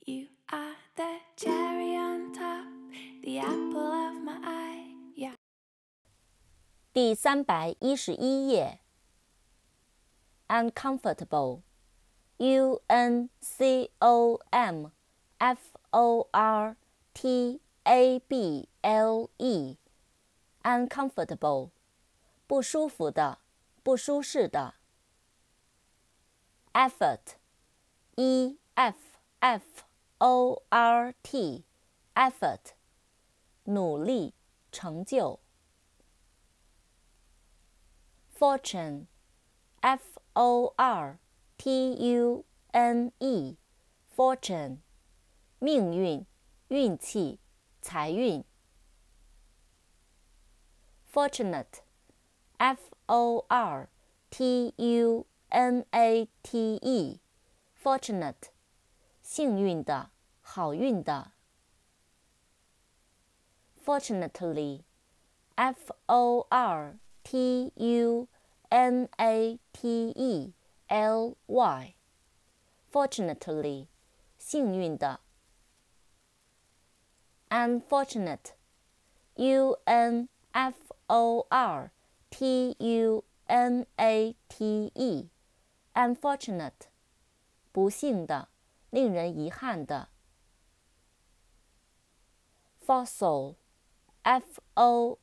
You are the cherry on top, the apple of my eye. Yeah. 第311页 Uncomfortable uncomfortable Uncomfortable 不舒服的，不舒适的。Effort E-F-F-O-R-T Effort 努力，成就。Fortune F-O-R-T-U-N-E Fortune 命运，运气，财运。Fortunate F-O-R-T-U-N-A-T-E Fortunate 幸运的，好运的。Fortunately F-O-R-T-U-N-A-T-E-L-Y Fortunately 幸运的。Unfortunate U-N-F-O-R-T-U-N-A-T-E Unfortunate 不幸的，令人遗憾的。Fossil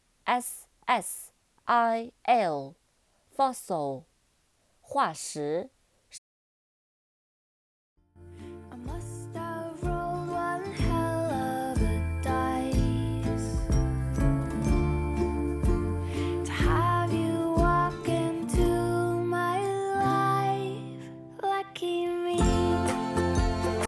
F-O-S-S-I-L Fossil 化石。